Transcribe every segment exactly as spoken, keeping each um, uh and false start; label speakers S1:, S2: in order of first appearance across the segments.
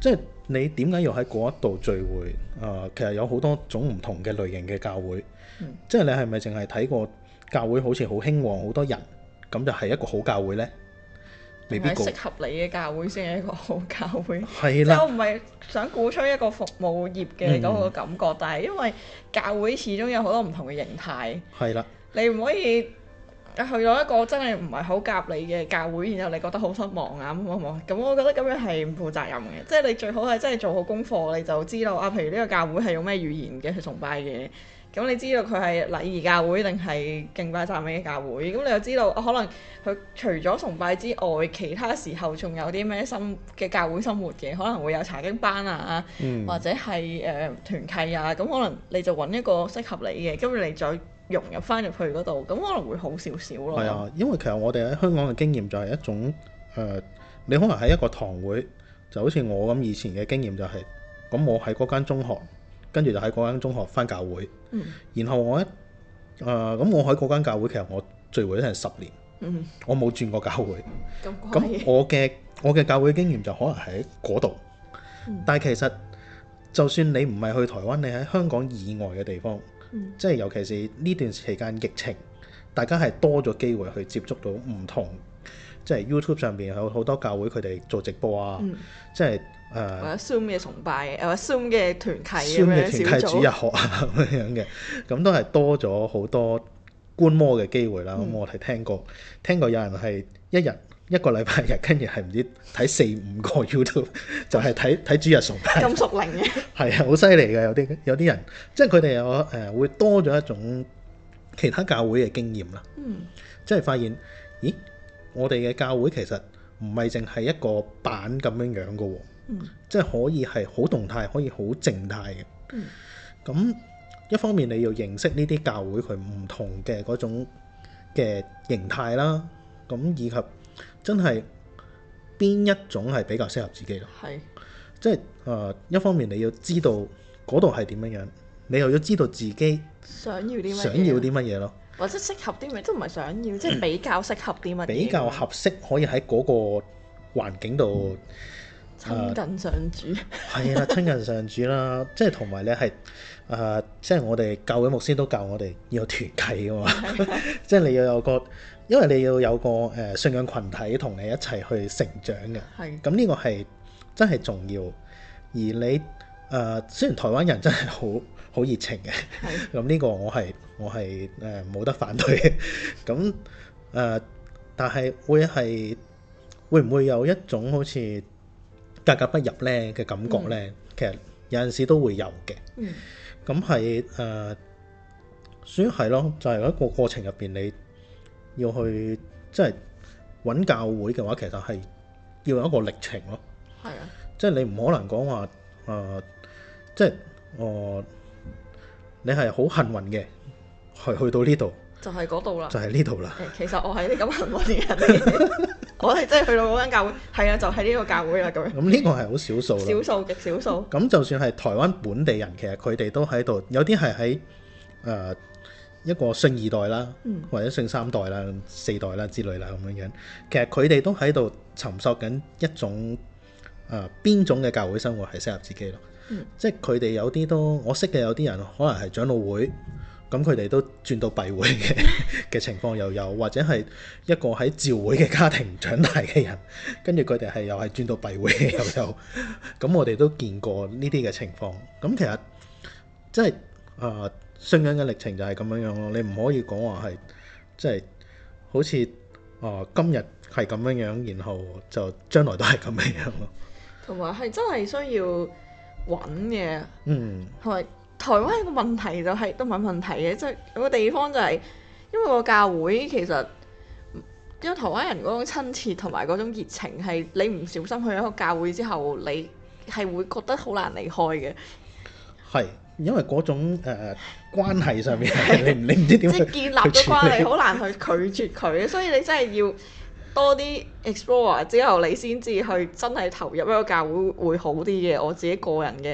S1: 即係你點解要喺嗰一度聚會？啊、呃，其實有好多種唔同嘅類型嘅教會，
S2: 嗯、
S1: 即係你係咪淨係睇過教會好似好興旺好多人，咁就係一個好教會呢？未必
S2: 係適合你嘅教會先係一個好教會。
S1: 係啦，
S2: 即係我唔係想鼓吹一個服務業嘅嗰個感覺，嗯、但係因為教會始終有好多唔同嘅形態。
S1: 係啦，
S2: 你唔可以去到一個真係唔係好夾你嘅教會，然後你覺得好失望啊咁咁咁，我覺得咁樣係唔負責任嘅。即係你最好係真係做好功課，你就知道啊。譬如呢個教會係用咩語言嘅去崇拜嘅。咁你知道佢係禮儀教會定係敬拜讚美嘅教會？咁你又知道、啊、可能佢除咗崇拜之外，其他時候仲有啲咩生嘅教會生活嘅？可能會有查經班啊，
S1: 嗯、
S2: 或者係誒、呃、團契啊。咁可能你就揾一個適合你嘅，跟住你再融入翻入去嗰度，咁可能會好少少咯。
S1: 係啊，因為其實我哋喺香港嘅經驗就係一種誒、呃，你可能喺一個堂會，就好似我咁以前嘅經驗就係、是，咁我喺嗰間中學。跟住就喺嗰間中學返教會，嗯、然後我一誒咁、呃、我喺嗰間教會，其實我聚會都係十年，嗯、我冇轉過教會。咁我嘅我嘅教會經驗就可能喺嗰度，嗯、但係其實就算你唔係去台灣，你喺香港以外嘅地方，嗯、即係尤其是呢段時間疫情，大家係多咗機會去接觸到唔同，即係 YouTube 上邊有好多教會佢哋做直播啊，嗯、即係。
S2: 誒、uh, 或者 Zoom 嘅崇拜，或者 Zoom 嘅團契
S1: 咁樣小組，Zoom 嘅團契主日學啊咁樣嘅，咁都係多咗好多觀摩嘅機會啦。咁、嗯、我係聽過，聽過有人係一日一個禮拜日，跟住係唔知睇四五個 YouTube，就係睇睇主日崇拜。
S2: 咁熟靈嘅。係
S1: 啊，好犀利嘅，有啲有啲人，即係佢哋有誒、呃、會多咗一種其他教會嘅經驗啦。嗯。即係發現，咦？我哋嘅教會其實唔係淨係一個板咁樣樣嘅喎。嗯、即係可以係好動態，可以好靜態嘅。咁、嗯、一方面你要認識呢啲教會佢唔同嘅嗰種嘅形態啦，咁以及真係邊一種係比較適合自己咯。係是，即係誒、呃、一方面你要知道嗰度係點樣樣，你又要知道自己
S2: 想要啲乜嘢，
S1: 想要啲乜嘢咯，
S2: 或者適合啲咩，都唔係想要，即係比較適合啲乜嘢，
S1: 比較合適可以喺嗰個環境度。嗯
S2: 親近上主
S1: 係啦、啊，親近上主啦，即係同埋咧係誒，即係我哋教會牧師都教我哋要有團契噶嘛，即係你要有個，因為你要有個誒、呃、信仰群體同你一齊去成長嘅。係咁呢個係真係重要。而你誒、呃、雖然台灣人真係好好熱情嘅，咁呢是個我係我係誒冇得反對嘅。咁誒、呃，但係會係會唔會有一種好似格格不入咧嘅感覺咧，嗯、其實有陣時都會有嘅。咁係誒，所以係咯，就係、是、一個過程入邊，你要去即係揾教會嘅話，其實係要有一個歷程咯。係啊，即係你唔可能講話誒，即係我、呃、你係好幸運嘅，去去到呢度
S2: 就係嗰度啦，
S1: 就係呢度啦。
S2: 其實我係啲咁幸運嘅人嚟嘅。我係真係去到嗰間教會，係啊，就係、是、呢個教會啦咁樣。咁呢個係好少數，少數極少數。咁就算係台灣本地人，其實佢哋都喺度，有啲係喺誒一個信二代啦，嗯、或者信三代啦、四代啦之類啦咁樣樣。其實佢哋都喺度尋索緊一種誒邊、呃、種嘅教會生活係適合自己咯。嗯、即係佢哋有啲都，我識嘅有啲人可能係長老會。咁佢哋都轉到閉會嘅嘅情況又有，或者係一個喺召會嘅家庭長大嘅人，跟住佢哋係又係轉到閉會嘅又有。咁我哋都見過呢啲嘅情況。咁其實即係誒信仰嘅歷程就係咁樣樣咯。你唔可以講話係即係好似誒、呃、今日係咁樣樣，然後就將來都係咁樣樣咯。同埋係真係需要揾嘅，嗯，係咪？台灣有個問題就係、是、都唔係問題嘅，即係有個地方就係、是、因為個教會其實因為台灣人嗰種親切同埋嗰種熱情係你唔小心去一個教會之後，你係會覺得好難離開嘅。係因為嗰種誒、呃、關係上面，你你唔知點即係建立咗關係，好難去拒絕佢，所以你真係要多啲 explore 之後，你先至去真係投入一個教會會好啲嘅。我自己個人嘅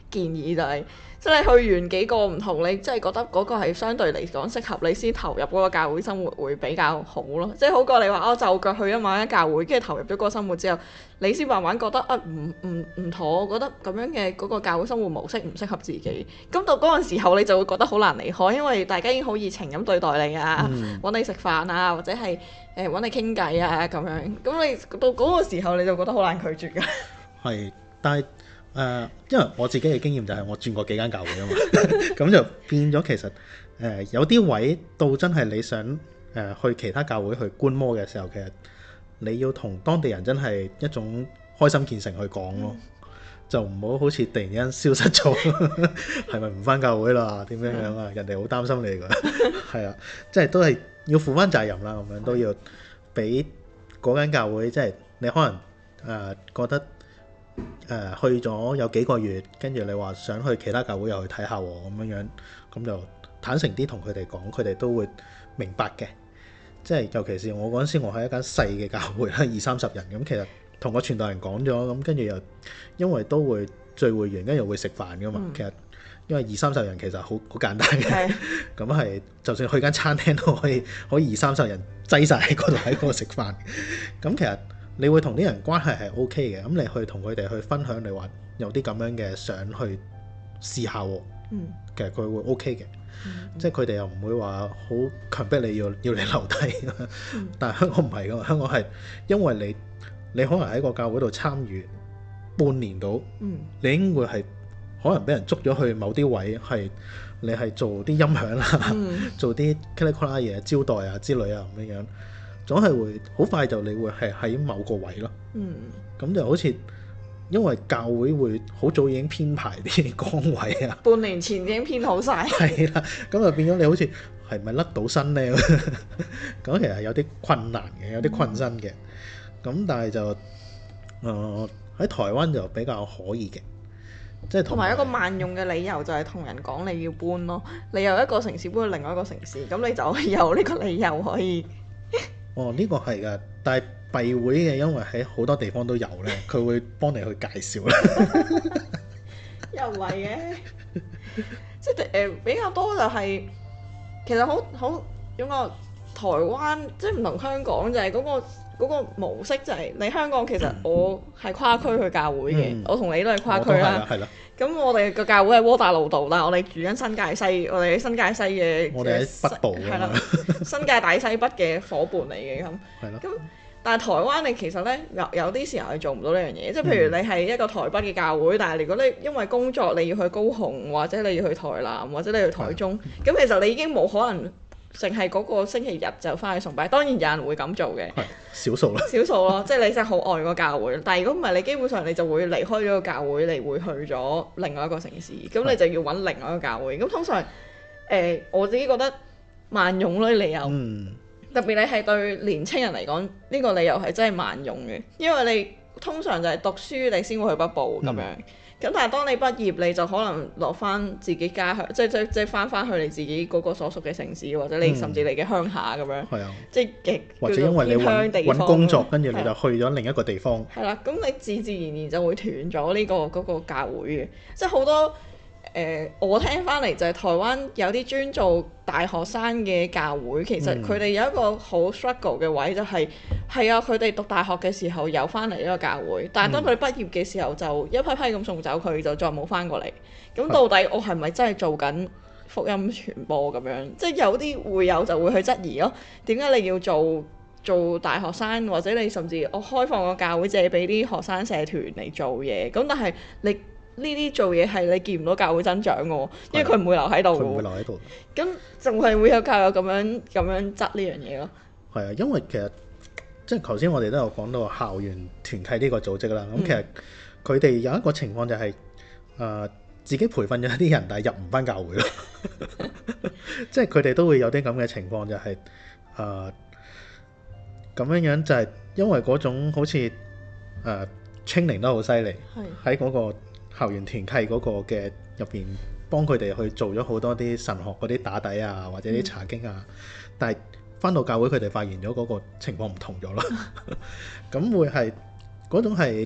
S2: 建議就係、是，即係你去完幾個唔同，你即係覺得嗰個係相對嚟講適合你先投入嗰個教會生活會比較好咯。即係好過你話哦就腳去咗某間教會，跟住投入咗嗰個生活之後，你先慢慢覺得啊唔唔唔妥，我覺得咁樣嘅嗰個教會生活模式唔適合自己。咁到嗰陣時候你就會覺得好難離開，因為大家已經好熱情咁對待你啊，揾、嗯、你食飯啊，或者係誒揾你傾偈啊咁樣。咁你到嗰個時候你就覺得好難拒絕㗎。
S1: 係，但係。誒、呃，因為我自己嘅經驗就係我轉過幾間教會啊嘛，咁就變咗其實誒、呃、有啲位到真係你想誒、呃、去其他教會去觀摩嘅時候，其實你要同當地人真係一種開心見誠去講咯，嗯、就唔好好似突然間消失咗，係咪唔返教會啦？點樣樣啊？人哋好擔心你㗎，係啊，即係都係要負返責任啦，咁樣都要俾嗰間教會，即係你可能誒、呃、覺得。誒、呃、去咗有幾個月，跟住你話想去其他教會又去睇下喎，咁樣樣咁就坦誠啲同佢哋講，佢哋都會明白嘅。即係尤其是我嗰陣時，我喺一間細嘅教會啦，二三十人咁，其實同個傳道人講咗，咁跟住又因為都會聚會完，跟住會食飯噶嘛。嗯、其實因為二三十人其實好好簡單嘅，咁係是就算去間餐廳都可以可以二三十人擠晒喺嗰度喺嗰度食飯。咁其實你會同啲人關係係 O K 嘅，咁你去同佢哋去分享，你話有啲咁樣嘅想去試下喎，嗯、其實佢會 O K 嘅，嗯、即係佢哋又唔會話好強迫你要要你留低，嗯、但係香港唔係㗎嘛，香港係因為你你可能喺個教會度參與半年到，嗯、你應該係可能俾人捉咗去某啲位，係你係做啲音響啦，嗯、做啲 clinical 嘢招待啊之類啊咁樣樣。總係會好快就你會係喺某個位咯，咁、嗯、就好似因為教會會好早已經編排啲崗位啊，
S2: 半年前已經編好晒，
S1: 係啦，咁就變咗你好似係咪甩到身呢？咁其實有啲困難嘅，有啲困身嘅，咁、嗯、但係就誒喺、呃、台灣就比較可以嘅，即係
S2: 同埋一個萬用嘅理由就係同人講你要搬咯，你由一個城市搬去另外一個城市，咁你就有呢個理由可以。
S1: 哦，呢、這個係㗎，但係閉會嘅，因為喺好多地方都有咧，佢會幫你去介紹啦。
S2: 又唔係嘅，即係誒、呃、比較多就係、是、其實好好點講，台灣即係唔同香港就係嗰、那個嗰、那個模式就係、是、你香港其實我係跨區去教會嘅，嗯、我同你都係跨區啦。係啦。咁我哋個教會喺窩打老道啦，我哋住緊新界西，我哋喺新界西嘅，
S1: 我哋喺北部
S2: 係啦，新界大西北嘅伙伴嚟嘅咁。係咯。咁但係台灣你其實咧有有啲時候係做唔到呢樣嘢，即係譬如你係一個台北嘅教會，但係如果你因為工作你要去高雄，或者你要去台南，或者你要去台中，咁的其實你已經冇可能淨係嗰個星期日就翻去崇拜。當然有人會咁做嘅，
S1: 少數啦，
S2: 少數咯，即係你真係好愛個教會。但係如果唔係，你基本上你就會離開咗個教會，你會去咗另外一個城市，咁的你就要揾另外一個教會。咁通常誒、呃，我自己覺得萬用咯理由，嗯、特別你係對年青人嚟講，呢、呢個理由係真係萬用嘅，因為你通常就係讀書你先會去北部咁樣。嗯咁但係當你畢業，你就可能落翻自己家鄉，即係即係即係翻翻去你自己嗰個所屬嘅城市，或者你甚至你嘅鄉下咁樣。係啊、嗯，即係極
S1: 或者因為你揾工作，跟住你就去咗另一個地方。
S2: 係啦，咁你自自然然就會斷咗呢個嗰個教會嘅，即係好多。誒、呃，我聽翻嚟就係台灣有啲專做大學生嘅教會，其實佢哋有一個好 struggle 嘅位就係、是，係、嗯、啊，佢哋讀大學嘅時候有翻嚟呢個教會，但係當佢哋畢業嘅時候就一批批咁送走佢，就再冇翻過嚟。咁到底我係咪真係做緊福音傳播咁樣？即係有啲會有就會去質疑咯。點解你要做做大學生，或者你甚至我開放個教會借俾啲學生社團嚟做嘢？咁但係你呢啲做嘢係你見唔到教會增長嘅，因為佢唔會留喺度嘅。佢唔會留喺度。咁仲係會有教友咁樣咁樣執呢樣嘢咯。
S1: 係啊，因為其實即係頭先我哋都有講到校園團契呢個組織啦。咁、嗯、其實佢哋有一個情況就係、是、誒、呃、自己培訓咗一啲人，但係入唔翻教會咯。即係佢哋都會有啲咁嘅情況，就係誒咁樣樣，就係因為嗰種好似誒 training 得好犀利，喺嗰個校園團契嗰個嘅入邊，幫佢哋去做咗好多啲神學嗰啲打底啊，或者啲查經啊。嗯、但係翻到教會，佢哋發現咗嗰個情況唔同咗咯。咁會係嗰種係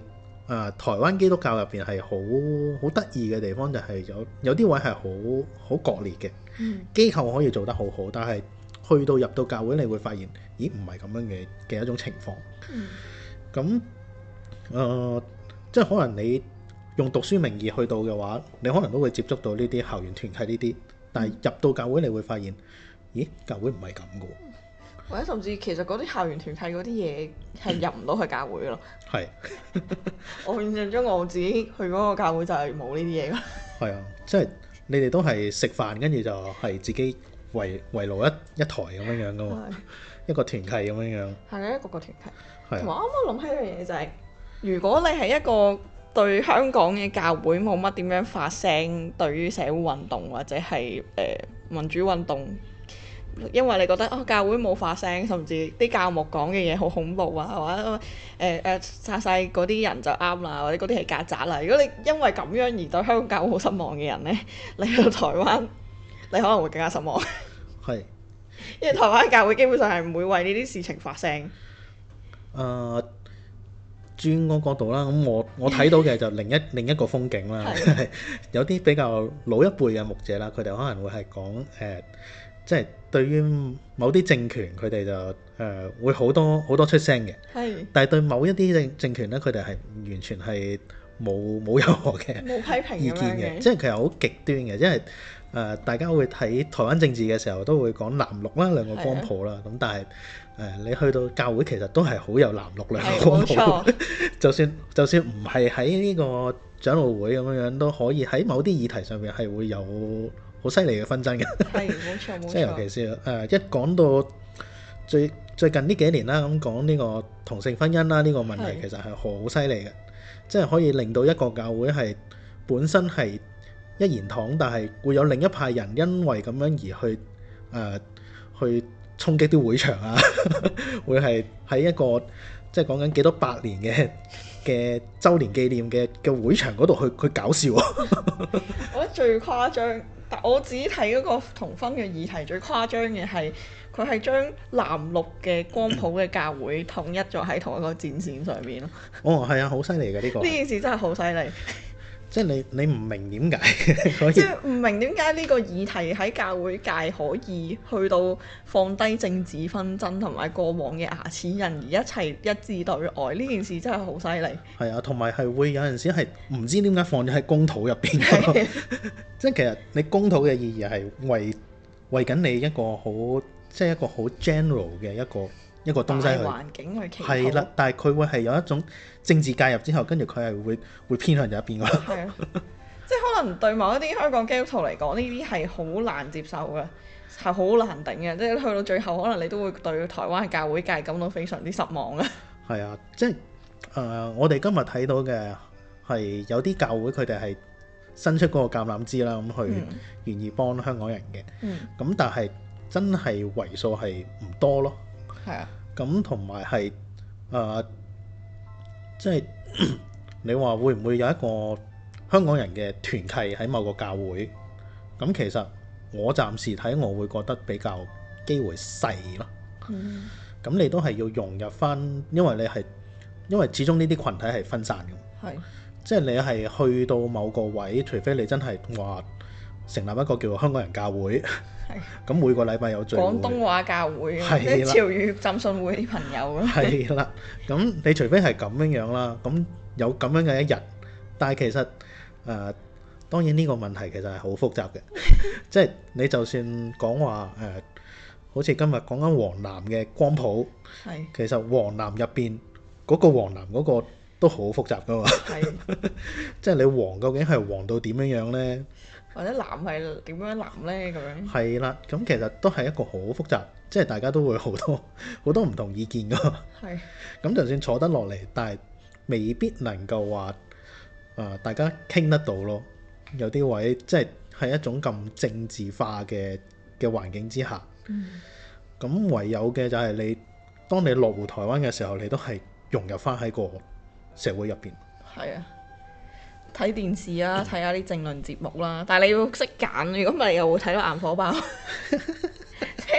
S1: 呃、台灣基督教入邊係好好得意嘅地方，就係有有啲位係好好割裂嘅。
S2: 嗯、機
S1: 構可以做得好好，但係去到入到教會，你會發現，咦唔係咁樣嘅嘅一種情況。咁誒、嗯呃，即係可能你用讀書名義去到嘅話，你可能都會接觸到呢啲校園團契呢啲，但係入到教會，你會發現，咦教會唔係咁嘅。
S2: 或者甚至其實嗰啲校園團契嗰啲嘢係入唔到去教會咯。係是。我印象中我自己去嗰個教會就係冇呢啲嘢咯。係啊，
S1: 即係你哋都係食飯，跟住就係自己圍圍爐一一台咁樣樣噶嘛，一個團契咁樣樣。係
S2: 啊，一個個團契。同埋啱啱諗起一樣嘢就係、是，如果你係一個對香港嘅教會冇乜點樣發聲，對於社會運動或者係誒、呃、民主運動。因為你覺得哦教會冇發聲，甚至啲教牧講嘅嘢好恐怖啊，或者誒誒殺晒嗰啲人就啱啦，或者嗰啲係曱甴啦。如果你因為咁樣而對香港教會好失望嘅人呢，你去到台灣，你可能會更加失望。係是，因為台灣教會基本上係唔會為呢啲事情發聲。誒、
S1: 呃，轉個角度啦，咁我我睇到嘅就另一另一個風景啦，的有啲比較老一輩嘅牧者啦，佢哋可能會係講誒。呃即係對於某啲政權，佢哋就誒、呃、會好多好多出聲嘅。係是。但係對某一啲政政權咧，佢哋係完全係冇冇任何嘅
S2: 冇批評
S1: 意見嘅。即係其實好極端嘅，因為誒、呃、大家會睇台灣政治嘅時候都會講藍綠啦，兩個光譜啦。咁的但係誒、呃、你去到教會其實都係好有藍綠兩個光譜。就算就算唔係喺呢個長老會咁樣樣，都可以喺某啲議題上面係會有好犀利嘅紛爭嘅，係冇錯冇錯。即係尤其是誒、呃、一講到最最近呢幾年啦，咁講呢個同性婚姻啦，呢、呢個問題其實係好犀利嘅，是即係可以令到一個教會係本身係一言堂，但係會有另一派人因為咁樣而去誒、呃、去衝擊啲會場啊，會係喺一個即係講緊幾多百年嘅嘅週年紀念嘅嘅會場嗰度去去搞笑。
S2: 我覺得最誇張。但我自己睇嗰個同婚嘅議題最誇張嘅係，佢係將藍綠嘅光譜嘅教會統一咗喺同一個戰線上面咯。
S1: 哦，係啊，好犀利嘅呢個。
S2: 呢件事真係好犀利。
S1: 即係你你唔明點解可以？
S2: 即係唔明點解呢個議題喺教會界可以去到放低政治紛爭同埋過往嘅牙齒印，而一齊一致對外。呢件事真係好犀利。係啊，
S1: 同埋係會有陣時係唔知點解放咗喺公土入邊。即係其實你公土嘅意義係為為緊你一個好即係一個好 general 嘅一個一個東西去
S2: 環境去祈禱。係啦，
S1: 但係佢會係有一種政治介入之後，跟住佢係會會偏向咗一邊咯。
S2: 係啊，即係可能對某一啲香港基督徒嚟講，呢啲係好難接受嘅，係好難頂嘅。即係去到最後，可能你都會對台灣嘅教會界感到非常之失望嘅。係啊，
S1: 即係誒、呃，我哋今日睇到嘅係有啲教會佢哋係伸出嗰個橄欖枝啦，咁去願意幫香港人嘅。咁、嗯、但係真係為數係唔多咯。係啊。咁同埋係誒，即係你話會唔會有一個香港人嘅團契喺某個教會？咁其實我暫時睇，我會覺得比較機會細咯。嗯。咁你都係要融入返，因為你係因為始終呢啲群體係分散嘅。係。即係你係去到某個位，除非你真係話成立一個叫做香港人教會，咁每個禮拜有聚會，
S2: 廣東話教會，即係潮語浸信會啲朋友咯。
S1: 係啦，咁你除非係咁樣樣啦，咁有咁樣嘅一日，但係其實誒、呃，當然呢個問題其實係好複雜嘅，即係你就算講話誒，好似今日講緊黃南嘅光譜，係其實黃南入邊嗰個黃南嗰個都好複雜噶嘛，係即係你黃究竟係黃到點樣樣咧？
S2: 或者藍係點樣藍咧？咁樣
S1: 係啦，咁其實都係一個好複雜，即係大家都會好多好多唔同意見噶。係咁是，就算坐得落嚟，但係未必能夠話啊、呃，大家傾得到咯。有啲位即係喺一種咁政治化嘅嘅環境之下，咁、嗯、唯有嘅就係你，當你落戶台灣嘅時候，你都係融入翻喺個社會入邊。係啊。
S2: 睇電視啊，睇下啲政論節目啦，但係你要識揀，如果唔係又會睇到眼火爆。即係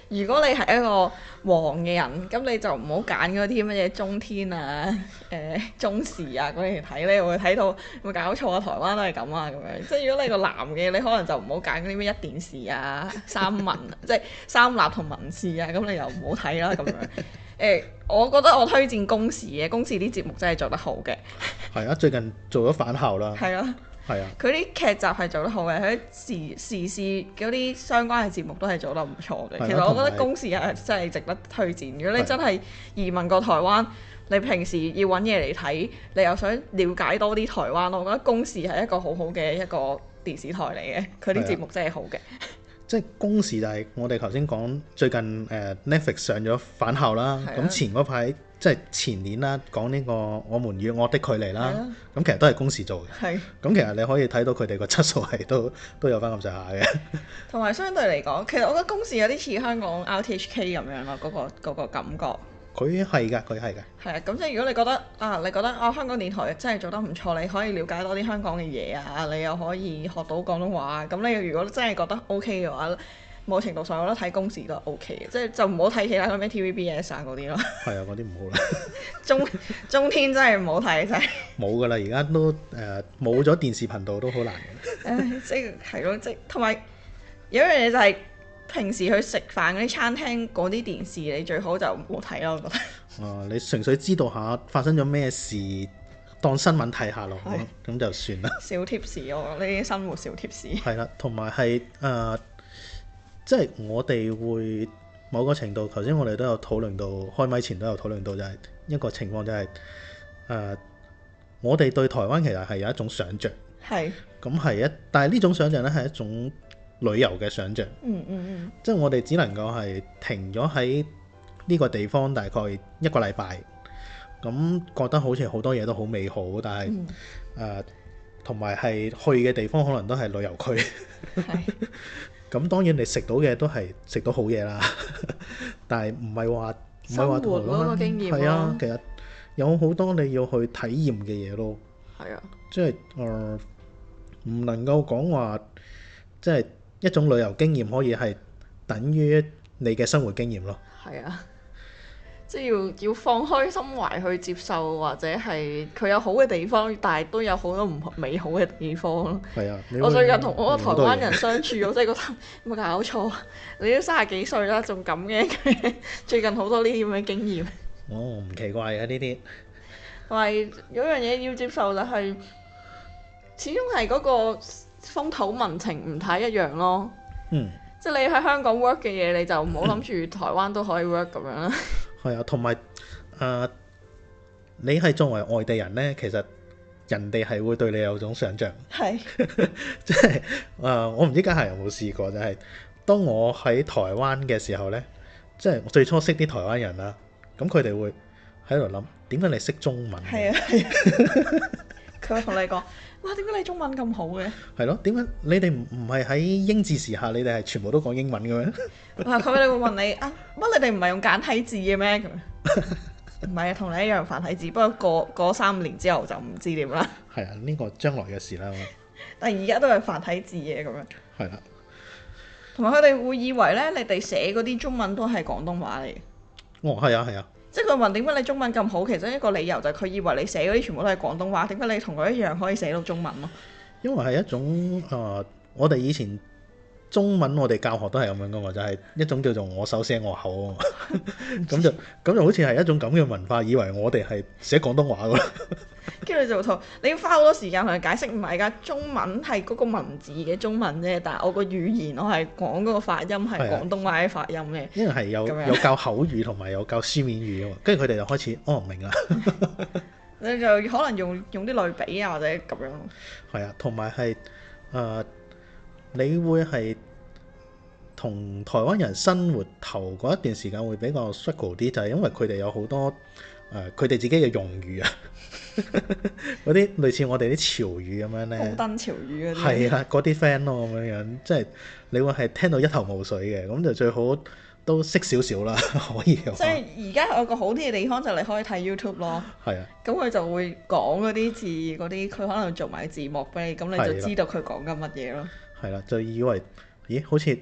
S2: 如果你係一個黃嘅人，咁你就唔好揀嗰啲乜嘢中天啊、誒、呃、中視啊嗰啲嚟睇，你會睇到會搞錯啊！台灣都係咁啊咁樣。即係如果你個男嘅，你可能就唔好揀嗰啲咩一電視啊、三文即係三立同民視啊，咁你又唔好睇啦咁樣。誒、呃，我覺得我推薦公視嘅，公視啲節目真係做得好嘅。
S1: 係啊，最近做咗返校啦。
S2: 係啊。
S1: 係啊，
S2: 佢啲劇集係做得好嘅，佢啲時時事嗰啲相關嘅節目都係做得唔錯嘅。其實我覺得公視係真係值得推薦。如果你真係移民過台灣，你平時要揾嘢嚟睇，你又想了解多啲台灣，我覺得公視係一個好好嘅一個電視台嚟嘅。佢啲節目真係好嘅。
S1: 即係公視就係我哋頭先講最近誒、呃、Netflix 上咗返校啦，咁、啊、前嗰排即係前年啦，講呢個我們與惡的距離啦，咁、啊、其實都係公視做嘅。係、啊。咁其實你可以睇到佢哋個質素係都都有翻咁上下嘅。同
S2: 埋相對嚟講，其實我覺得公視有啲似香港 R T H K 咁樣咯，嗰、嗰個嗰個感覺。佢係㗎，佢係㗎。係啊，咁即係如果你覺得啊，你覺得啊香港電台真係做得唔錯，你可以了解多啲香港嘅嘢啊，你又可以學到廣東話，咁你如果真係覺得 OK 嘅話，某程度上我覺得睇公視都係 OK 嘅，即係就唔好睇其他嗰咩 T V B S 啊嗰啲咯。係啊，嗰啲唔好啦。中中天真係唔好睇，真係。冇㗎啦，而家都誒冇咗電視頻道都好難嘅。誒，即係係咯，即係同埋有一樣嘢就係、是。平時去食飯嗰啲餐廳嗰啲電視，你最好就唔好睇咯，我覺得。啊，你純粹知道下發生咗咩事，當新聞睇下咯，咁就算啦。小貼士喎，呢啲生活小貼士。係啦，同埋係誒，即係我哋會某個程度，頭先我哋都有討論到，開咪前都有討論到，就係一個情況就係、是、誒、呃，我哋對台灣其實係有一種想像。係。咁係一，但係呢種想像咧係一種旅遊嘅想像，嗯嗯嗯，即係我哋只能夠係停咗喺呢個地方大概一個禮拜，咁覺得好似好多嘢都好美好，但係誒同埋係去嘅地方可能都係旅遊區，咁當然你食到嘅都係食到好嘢啦，但係唔係話唔係話同嗰個經驗咯，係啊，其實有好多你要去體驗嘅嘢咯，係啊，即係誒唔能夠講話即係。一種旅遊經驗可以係等於你嘅生活經驗咯。係啊，即係要要放開心懷去接受，或者係佢有好嘅地方，但係都有好多唔美好嘅地方咯。係啊，我最近同我個台灣人相處，我真係覺得有冇搞錯？你都三十幾歲啦，仲咁嘅？最近好多呢啲咁嘅經驗。哦，唔奇怪嘅呢啲。同埋有樣嘢要接受就係、是，始終係嗰、嗰個。風土民情唔太一樣咯，嗯，即係你喺香港 work 嘅嘢，你就唔好諗住台灣都可以 work 咁樣啦。係啊，同埋誒，你係作為外地人呢，其實人哋係會對你有種想像，係，即係誒，我唔知家下有冇試過，就係、是、當我喺台灣嘅時候呢，即係最初識啲台灣人啦，咁佢哋會喺度諗點解你識中文？係啊，係啊，佢會同你講。哇！點解你中文咁好嘅？係咯，點解你哋唔唔係喺英治時下，你哋係全部都講英文嘅咩？啊！佢哋會問你啊，乜你哋唔係用簡體字嘅咩？唔係啊，同你一樣繁體字，不過過過三年之後就唔知點啦。係啊，呢個將來嘅事啦。但係而家都係繁體字嘅咁樣。係啦。同埋佢哋會以為咧，你哋寫嗰啲中文都係廣東話嚟嘅。哦，係啊，係啊。即係佢問點解你中文咁好，其中一個理由就係佢以為你寫嗰啲全部都係廣東話，點解你同佢一樣可以寫到中文咯？因為係一種誒、呃，我哋以前中文我哋教學都係咁樣噶嘛，就係、是、一種叫做我手寫我口啊嘛，咁就咁就好似係一種咁嘅文化，以為我哋係寫廣東話噶啦。跟住就同你要花好多時間同佢解釋，唔係㗎，中文係嗰個文字嘅中文啫，但係我個語言我係講嗰個發音係廣東話嘅發音嘅。因為係有有教口語同埋有教書面語啊嘛，跟住佢哋就開始哦唔明啦。你就可能用用啲類比啊或者咁樣。係啊，同埋係誒，你會係同台灣人生活頭嗰一段時間會比較 struggle 啲，就係因為佢哋有好多誒佢哋自己嘅用語啊。嗰啲類似我哋啲潮語咁樣咧，高登潮語嗰啲，係啊，嗰啲 friend 咯咁樣樣，即係你會係聽到一頭霧水嘅，咁就最好都識少少啦，可以。即係而家有個好啲嘅地方就係你可以睇 YouTube 咯，係啊，咁佢就會講嗰啲字嗰啲，佢可能做埋字幕俾你，咁你就知道佢講緊乜嘢咯。係啦，就以為咦好似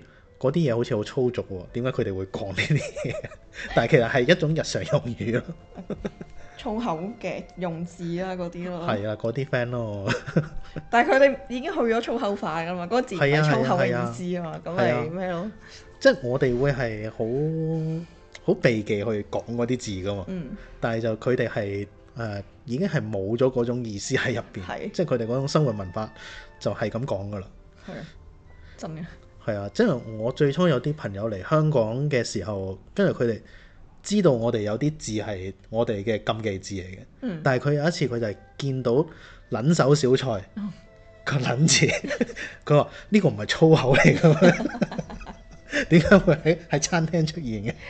S1: 嗰啲嘢好似好粗俗喎，點解佢哋會講呢啲嘢？但係其實係一種日常用語咯。
S2: 粗口嘅用字啦，嗰啲咯。
S1: 係啊，嗰啲 friend 咯。
S2: 但係佢哋已經去咗粗口化㗎嘛，嗰、嗰個字係粗口嘅意思啊嘛，咁咪咩咯？
S1: 即係我哋會係好好避忌去講嗰啲字㗎嘛。嗯。但係就佢哋係誒已經係冇咗嗰種意思喺入邊。係。即係佢哋嗰種生活文化就係咁講㗎啦。
S2: 係。真嘅。係
S1: 啊，即係我最初有啲朋友嚟香港嘅時候，跟住佢哋知道我哋有啲字係我哋嘅禁忌字嚟嘅。嗯。但係佢有一次佢就係見到撚手小菜個撚字，佢話呢個唔係粗口嚟㗎咩？點解會喺喺餐廳出現嘅？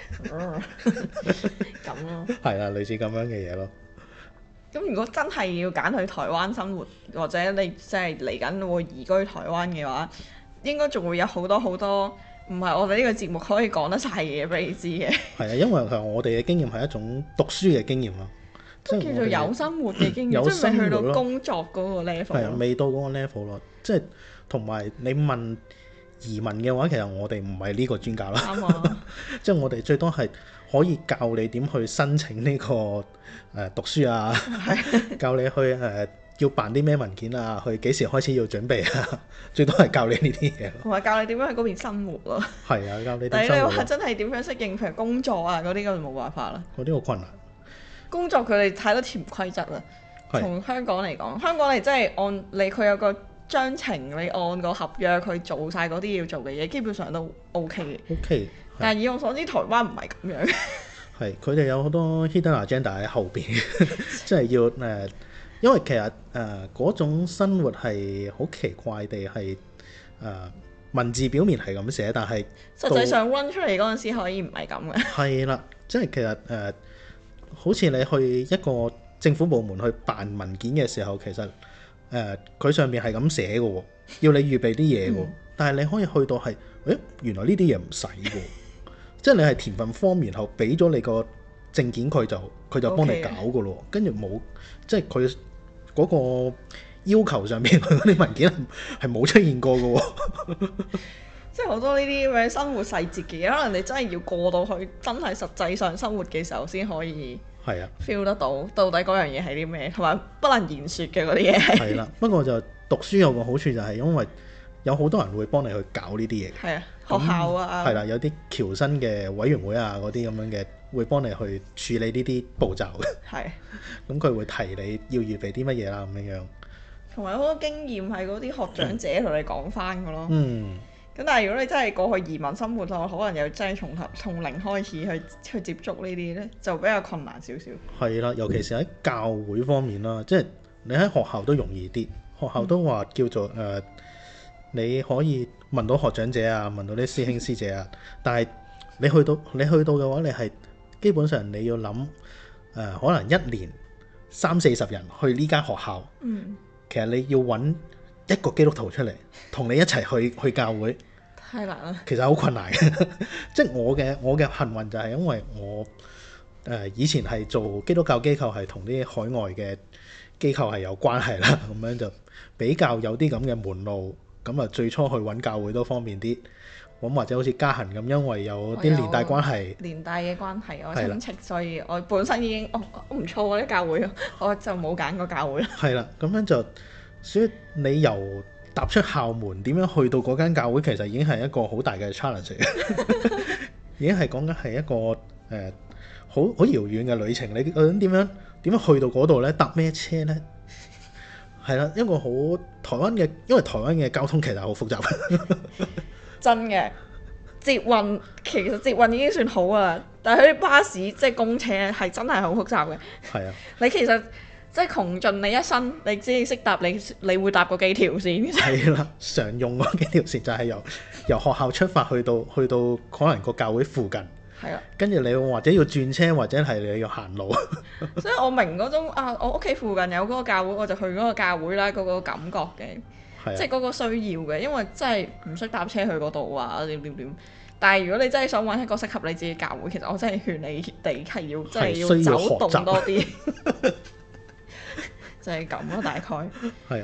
S2: 咁咯。係
S1: 啊，類似咁樣嘅嘢咯。
S2: 咁如果真係要揀去台灣生活，或者你即係嚟緊會移居台灣嘅話，應該仲會有好多好多唔係我哋呢個節目可以講得晒嘅嘢俾你知嘅。係啊，
S1: 因為其實我哋嘅經驗係一種讀書嘅經驗咯，
S2: 即係叫做有生活嘅經驗，即係未去到工作嗰個 level。係
S1: 啊，未到嗰個 level 咯，即係同埋你問移民嘅話，其實我哋唔係呢個專家啦。啱啊！即係我哋最多係可以教你點去申請呢、這個誒、呃、讀書啊，教你去誒、呃、要辦啲咩文件啊，去幾時開始要準備啊，最多係教你呢啲嘢。
S2: 同埋教你點樣喺嗰邊生活咯。
S1: 係啊，教你點生活。
S2: 但係你話真係點樣適應譬如工作啊嗰啲，咁就冇辦法啦。
S1: 嗰啲好困難。
S2: 工作佢哋太多潛規則啦。從香港嚟講，香港你真係按你佢有個章程，你按個合約去做晒嗰啲要做嘅嘢，基本上都 OK 嘅。OK。但係以我所知，台灣唔係咁樣。
S1: 係，佢哋有好多 hidden agenda 喺後邊，即係要誒、呃，因為其實誒嗰、呃、種生活係好奇怪地係誒、呃、文字表面係咁寫，但係
S2: 實際上 run 出嚟嗰陣時可以唔係咁嘅。係
S1: 啦，即係其實誒、呃，好似你去一個政府部門去辦文件嘅時候，其實誒佢、呃、上面係咁寫嘅喎，要你預備啲嘢喎，嗯、但係你可以去到係，誒原來呢啲嘢唔使嘅。即係你係填份 form，然後俾咗你個證件佢就佢就幫你搞噶咯，跟住冇即係佢嗰個要求上面佢嗰啲文件係冇出現過嘅。
S2: 即係好多呢啲咁嘅生活細節嘅嘢，可能你真係要過到去真係實際上生活嘅時候先可以係啊 feel 得到到底嗰樣嘢係啲咩，同埋不能言説嘅嗰啲嘢。係啦，
S1: 不過就讀書有個好處就係因為有好多人會幫你去搞呢啲嘢。
S2: 係啊。學校啊，
S1: 係啦，有啲僑生嘅委員會啊，嗰啲咁樣嘅會幫你去處理呢啲步驟嘅。係，咁佢會提你要預備啲乜嘢啦，咁樣樣。
S2: 同埋好多經驗係嗰啲學長者同你講翻嘅咯。嗯。咁但係如果你真係過去移民生活咯，可能又真係從頭從零開始去去接觸呢啲咧，就比較困難少少。
S1: 係啦，尤其是喺教會方面啦，即係你喺學校都容易啲，學校都話叫做誒。呃你可以問到學長者啊，問到啲師兄師姐啊，但係你去到你去到嘅話，你係基本上你要諗誒、呃，可能一年三四十人去呢間學校，嗯、其實你要揾一個基督徒出嚟同你一齊去去教會，
S2: 太難啦。
S1: 其實好困難嘅，即係我嘅我嘅幸運就係因為我誒、呃、以前係做基督教機構，係同啲海外嘅機構係有關係啦，咁樣就比較有啲咁嘅門路。咁啊，最初去揾教會都方便啲，咁或者好似嘉恆咁，因為有啲連帶關係，
S2: 連帶嘅關係，我親戚，所以我本身已經哦唔錯嗰啲教會，我就冇揀過教會啦。
S1: 係啦，咁樣就，所以你由踏出校門點樣去到嗰間教會，其實已經係一個好大嘅 challenge 已經係講緊係一個誒好好遙遠嘅旅程。你究竟點樣點樣去到嗰度呢？搭咩車呢？係啦，一個好台灣嘅，因為台灣嘅交通其實好複雜。
S2: 真嘅，捷運其實捷運已經算好啊，但係佢啲巴士即係公車係真係好複雜嘅。係啊，你其實即係窮盡你一生，你只係識搭你你會搭過幾條線？係
S1: 啦，常用嗰幾條線就係由由學校出發去到去到可能個教會附近。係啊，跟住你或者要轉車，或者係你要行路。
S2: 所以我明嗰種啊，我屋企附近有嗰個教會，我就去嗰個教會啦，嗰、嗰個感覺嘅，啊、即係嗰個需要嘅，因為真係唔識搭車去嗰度啊，點點點。但係如果你真係想揾一個適合你自己教會，其實我真係勸你哋係要真係要走動多啲。就係咁咯，大概。
S1: 係啊，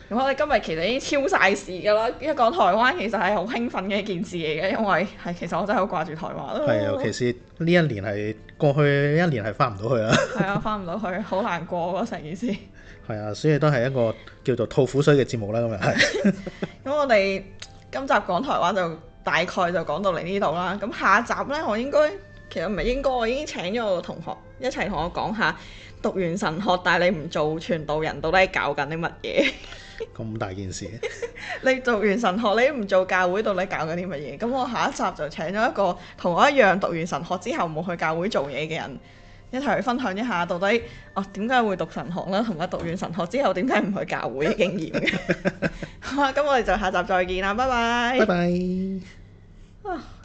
S2: 咁我哋今日其實已經超晒時㗎啦，一講台灣其實係好興奮嘅一件事嚟嘅，因為係其實我真係好掛住台灣咯。
S1: 係，尤其是呢一年係過去一年係翻唔到去啦。係
S2: 啊，翻唔到去，好難過嗰成件事。
S1: 係啊，所以都係一個叫做吐苦水嘅節目啦，咁又係。
S2: 咁我哋今集講台灣就大概就講到嚟呢度啦。咁下一集呢，我應該其實唔係應該，我已經請咗我同學一齊同我講下讀完神學，但係你唔做傳道人，到底係搞緊啲乜嘢？
S1: 咁大件事。
S2: 你讀完神學，你唔做教會，到底搞緊啲乜嘢？咁我下一集就請咗一個同我一樣讀完神學之後冇去教會做嘢嘅人，一齊去分享一下到底哦點解會讀神學啦，同埋讀完神學之後點解唔去教會嘅經驗嘅。好啊，咁我哋就下集再見啦，拜拜。
S1: 拜拜。啊